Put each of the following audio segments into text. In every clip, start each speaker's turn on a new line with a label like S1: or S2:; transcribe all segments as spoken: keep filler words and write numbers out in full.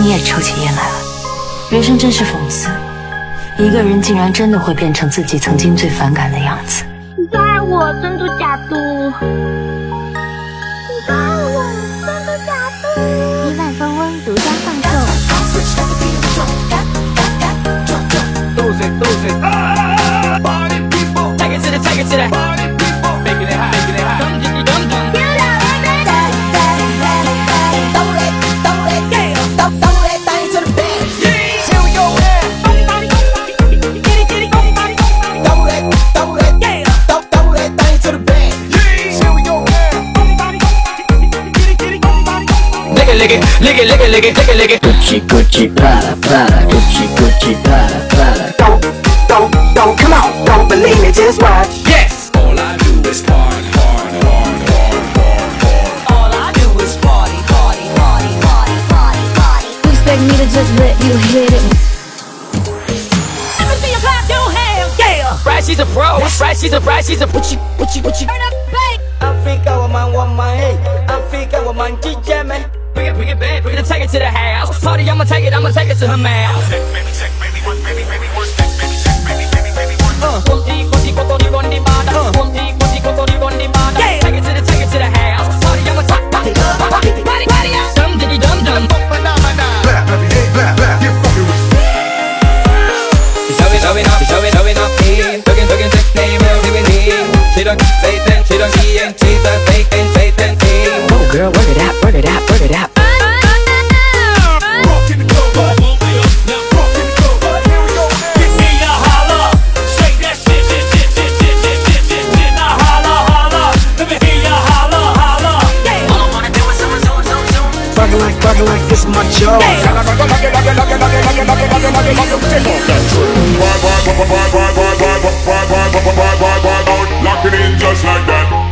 S1: 你也抽起烟来了。人生真是讽刺，一个人竟然真的会变成自己曾经最反感的样子。
S2: 你最爱我，珍珠假嘟。你最爱我，珍珠假嘟。一万风温独家放送。
S3: Lose it, lose it. Party people, take it to the, take it to the. Party people, making it hot, making it hot. Dum dum dum dum. Throw that, throw that, yeah. Throw, throw that thing to the bed. Yeah. Chill your head. Get it, get it, throw that, throw that, yeah. Throw, throw that thing to the bed. Yeah. Chill your head. Get it, get it, lick it, lick it, lick it, lick it, lick it, lick it, lick it.
S4: Gucci, Gucci, Prada, Prada, Gucci, Gucci, Prada, Prada.
S5: Don't, don't, don't, come on, don't believe me, just watch.
S3: Yes. All I do is party, party, party, party, party, party. All I do is party, party, party, party, party, party.
S2: You expect me to just let you hit it?
S3: Let me see you clap your hands, yeah. Right, she's a pro. Right, she's a right, she's a pucci, pucci, pucci. Turn up the bass. Africa woman, woman, hey. Africa woman, D J man. Bring it, bring it back, bring it, take it to the house. Party, I'ma take it, I'ma take it to her mouth. Baby, take, baby, one, baby, baby, one, baby, take, baby, baby, baby, one. Uh, konti, konti, kotori, rondi, bada. Uh, konti, konti, kotori, rondi, bada. Yeah. Take it to the, take it to the house. Party, I'ma take, party, party, party, party, yeah. Dum, diddy, dum, dum. Phenomenon.
S6: Clap, clap, hey, clap, clap, get fucking with it.
S3: Showing, showing up, showing, showing up, hey. Talking, talking, sex name, doing it. She don't Satan, she don't she ain't, she's a Satan, Satan, hey.
S4: Oh girl, work it out, work it out, work it out.
S5: Fucking like, fucking like this is my job.
S6: Lock it in just like that.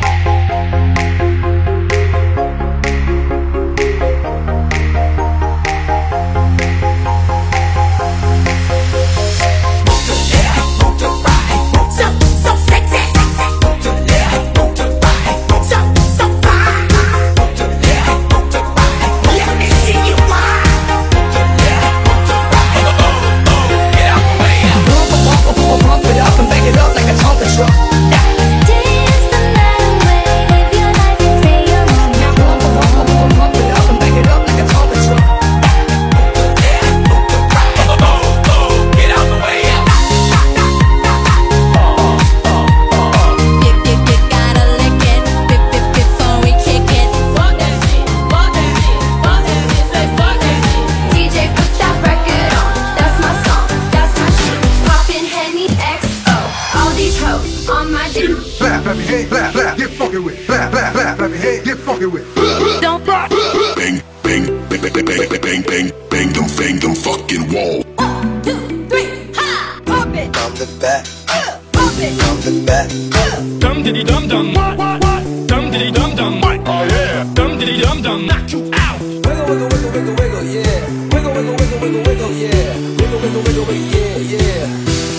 S6: Clap, clap your head, clap, clap, get fucking with it. Clap, clap, clap, clap your head, get fucking with it.
S2: Don't
S6: bang, bang, bang, bang, bang, bang, bang, bang, bang them, bang them fucking wall.
S2: One, two, three, ha! Pump it.
S5: From the back,
S2: Uh, pump it.
S5: from the back.
S3: Dum diddy dum dum. What what what? Dum diddy dum dum. What?
S6: Oh yeah.
S3: Dum diddy dum dum. Knock you out.
S5: Wiggle, wiggle, wiggle, wiggle, wiggle, yeah. Wiggle, wiggle, wiggle, wiggle, wiggle, yeah. Wiggle, wiggle, wiggle, wiggle, yeah, yeah.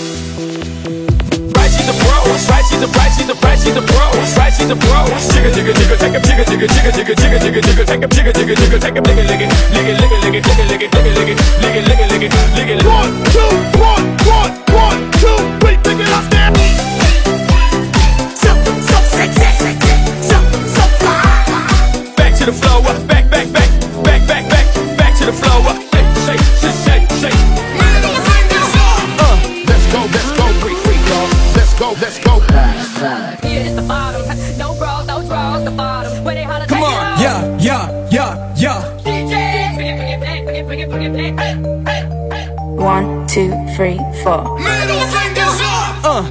S3: Right, she's a pro. Right, she's a right, she's a right, she's a pro. Right, she's a pro. Jigga jigga jigga, take a jigga jigga jigga jigga jigga jigga jigga, take a jigga jigga jigga, take a lick it lick it lick it lick it lick it lick it lick it lick it lick it lick it lick it lick it. One two one one one two three, pick it up there. So so sexy, sexy, so so fly. Back to the floor, back back back back back back back to the floor. Shake shake shake shake shake. Uh,
S6: Let's go, let's go, free, free, y'all. Let's go, let's go.
S3: here is the bottom. No bras, no draws, the bottom. Where they holler,
S7: Come
S3: take it
S7: on,
S3: off.
S7: yeah, yeah, yeah, yeah.
S3: D J, bring it, bring it back, bring it, bring it, bring it back. Hey, hey, hey.
S1: One, two, three, four.
S6: Middle fingers up.
S7: Uh,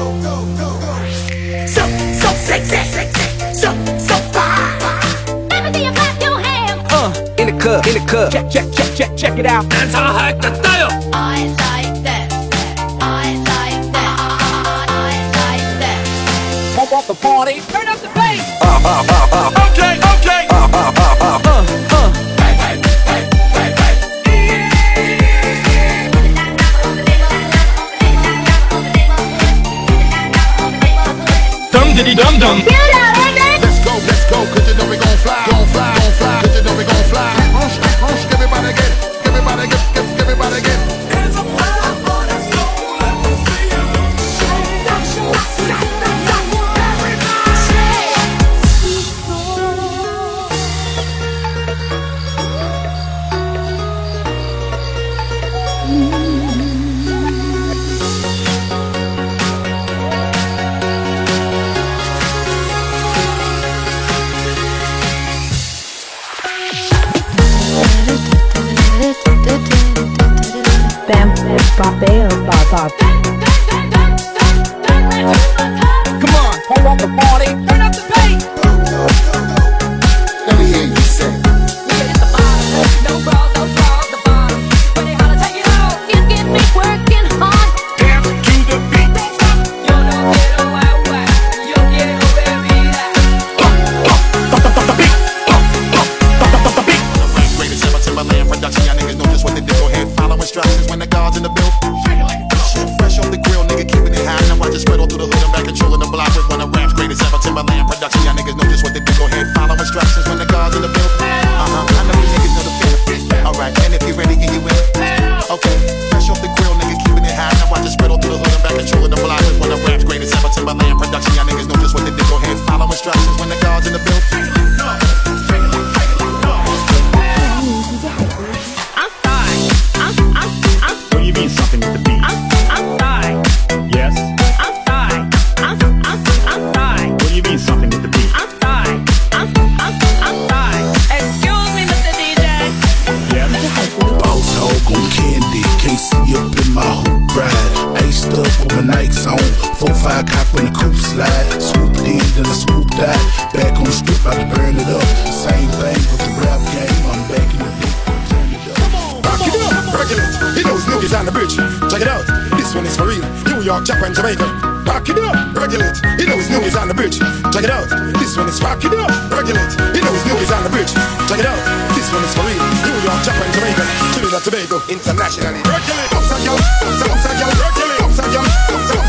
S3: So, so sexy, sexy, so, so fly.
S2: Let me see you clap your hands.
S7: uh. In the club, in the club. Check, check, check, check, check it out.
S3: Dance all hype, the style.
S2: I like that. I like that. I like that.
S3: Pump up the party, turn up the bass.
S6: Okay, okay.
S7: Uh, uh.
S3: Hey, hey, hey, hey, hey. Dum diddy dum dum.
S6: Let's go, let's go, cause you know we gon' fly. Gon' fly, gon' fly, cause you know we gon' fly. Rush, rush, everybody get it. Everybody
S8: Babeo Baba.
S3: Come on, hold up the party. Turn up the bass.
S6: Let me hear you say.
S2: It's the bottom, no bra, no bra, the bottom. When you gotta take it out, you get me working hard.
S6: Dance to the beat.
S2: Yo no quiero agua, yo quiero bebida.
S9: Greatest ever Timberland production, y'all niggas know just what to do. Go ahead, follow instructions when the guards in the building. Shit fresh off the grill, nigga, keeping it high. Now I just spread all through the hood, I'm back controlling the block with one of rap's greatest ever Timberland production. Y'all niggas know just what to do. Go ahead, follow instructions when the guards in the building. Uh huh, I know you niggas know the feeling. Alright, and if you're ready and you in, okay, fresh off the grill, nigga, keeping it high. Now I just spread all through the hood, I'm back controlling the block with one of rap's greatest ever Timberland production. Y'all niggas know just what to do. Go ahead, follow instructions when the guards in the building.
S2: I'm sorry, I'm, I'm, I'm,
S10: What do you mean something with the beat?
S2: I'm, I'm sorry,
S10: Yes?
S2: I'm sorry, I'm, I'm, I'm sorry.
S10: What do you mean something with the beat?
S2: I'm sorry. I'm, I'm, I'm sorry. Excuse me, Mister D J.
S10: Yes?
S11: Boss hog on candy, can't see up in my hoop ride. Iced up with my Nikes on, four five cock when the coupe slide. Swooped in, then I swooped out. Back on the strip, about to burn it up. Same thing with the rap game, I'm back in the beat, turn it up.
S6: Back it up, regulate. You know Snoopy's on the bridge. Check it out. This one is for real. New York, Japan, Jamaica. Back it up, regulate. You know Snoopy's on the bridge. Check it out. This one is back it up, regulate. You know Snoopy's on the bridge. Check it out. This one is for real. New York, Japan, Jamaica. Trinidad, Tobago, internationally. Regulate. Ups and down, ups and ups and down. Regulate. Ups and down, ups and